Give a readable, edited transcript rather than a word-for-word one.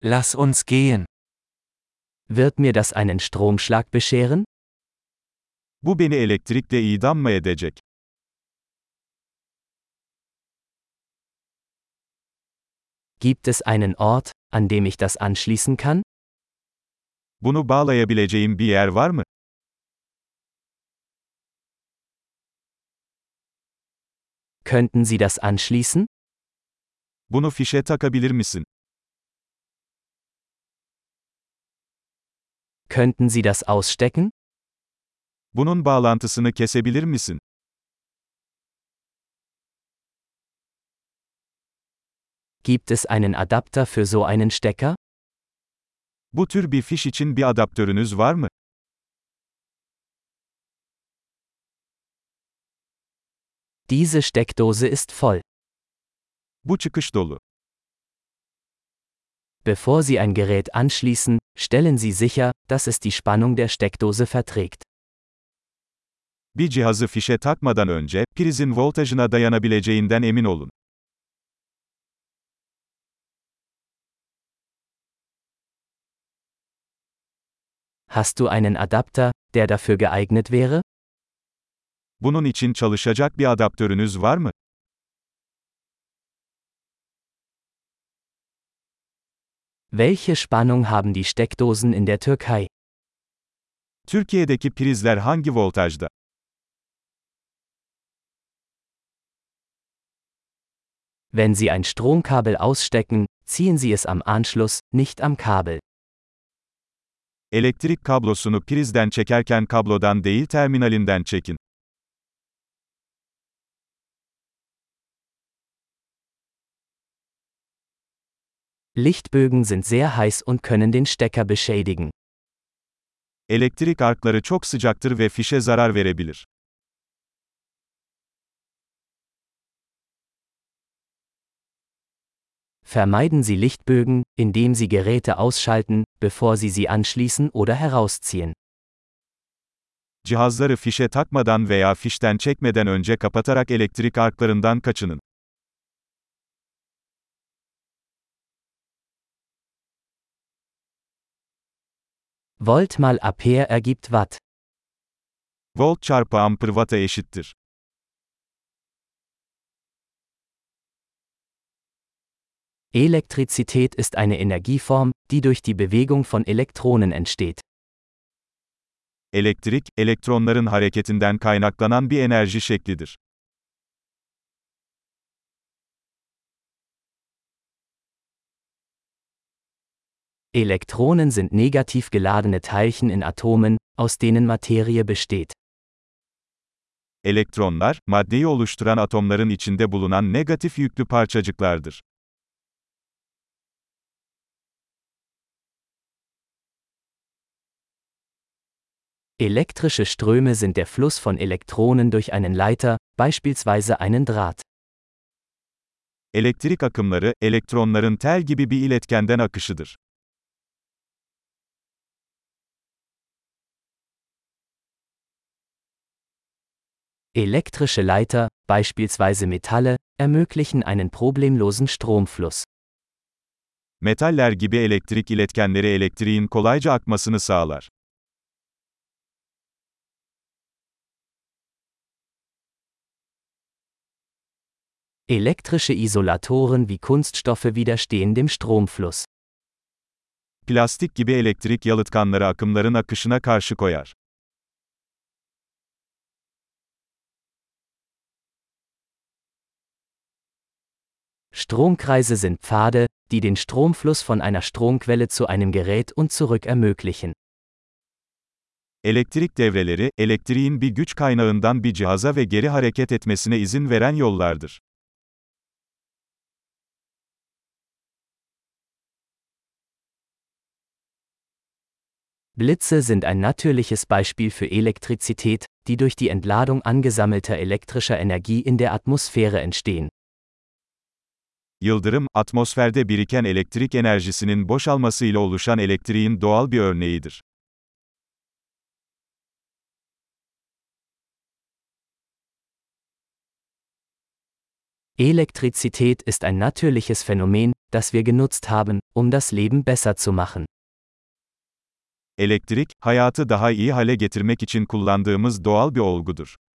Lass uns gehen. Wird mir das einen Stromschlag bescheren? Bu beni elektrikle idam mı edecek? Gibt es einen Ort, an dem ich das anschließen kann? Bunu bağlayabileceğim bir yer var mı? Könnten Sie das anschließen? Bunu fişe takabilir misin? Könnten Sie das ausstecken? Bunun bağlantısını kesebilir misin? Gibt es einen Adapter für so einen Stecker? Bu tür bir fiş için bir adaptörünüz var mı? Diese Steckdose ist voll. Bu çıkış dolu. Bevor Sie ein Gerät anschließen, stellen Sie sicher, dass es die Spannung der Steckdose verträgt. Bir cihazı fişe takmadan önce, prizin voltajına dayanabileceğinden emin olun. Hast du einen Adapter, der dafür geeignet wäre? Bunun için çalışacak bir adaptörünüz var mı? Welche Spannung haben die Steckdosen in der Türkei? Türkiye'deki prizler hangi voltajda? Wenn Sie ein Stromkabel ausstecken, ziehen Sie es am Anschluss, nicht am Kabel. Elektrik kablosunu prizden çekerken kablodan değil terminalinden çekin. Lichtbögen sind sehr heiß und können den Stecker beschädigen. Elektrik arkları çok sıcaktır ve fişe zarar verebilir. Vermeiden Sie Lichtbögen, indem Sie Geräte ausschalten, bevor Sie sie anschließen oder herausziehen. Cihazları fişe takmadan veya fişten çekmeden önce kapatarak elektrik arklarından kaçının. Volt mal Ampere ergibt Watt. Volt çarpı amper watt'a eşittir. Elektrizität ist eine Energieform, die durch die Bewegung von Elektronen entsteht. Elektrik, elektronların hareketinden kaynaklanan bir enerji şeklidir. Elektronen sind negativ geladene Teilchen in Atomen, aus denen Materie besteht. Elektronlar, maddeyi oluşturan atomların içinde bulunan negatif yüklü parçacıklardır. Elektrische Ströme sind der Fluss von Elektronen durch einen Leiter, beispielsweise einen Draht. Elektrik akımları, elektronların tel gibi bir iletkenden akışıdır. Elektrische Leiter, beispielsweise Metalle, ermöglichen einen problemlosen Stromfluss. Metaller gibi elektrik iletkenleri elektriğin kolayca akmasını sağlar. Elektrische Isolatoren wie Kunststoffe widerstehen dem Stromfluss. Plastik gibi elektrik yalıtkanları akımların akışına karşı koyar. Stromkreise sind Pfade, die den Stromfluss von einer Stromquelle zu einem Gerät und zurück ermöglichen. Elektrik devreleri, elektriğin bir güç kaynağından bir cihaza ve geri hareket etmesine izin veren yollardır. Blitze sind ein natürliches Beispiel für Elektrizität, die durch die Entladung angesammelter elektrischer Energie in der Atmosphäre entstehen. Yıldırım, atmosferde biriken elektrik enerjisinin boşalmasıyla oluşan elektriğin doğal bir örneğidir. Elektrizität ist ein natürliches Phänomen, das wir genutzt haben, um das Leben besser zu machen. Elektrik, hayatı daha iyi hale getirmek için kullandığımız doğal bir olgudur.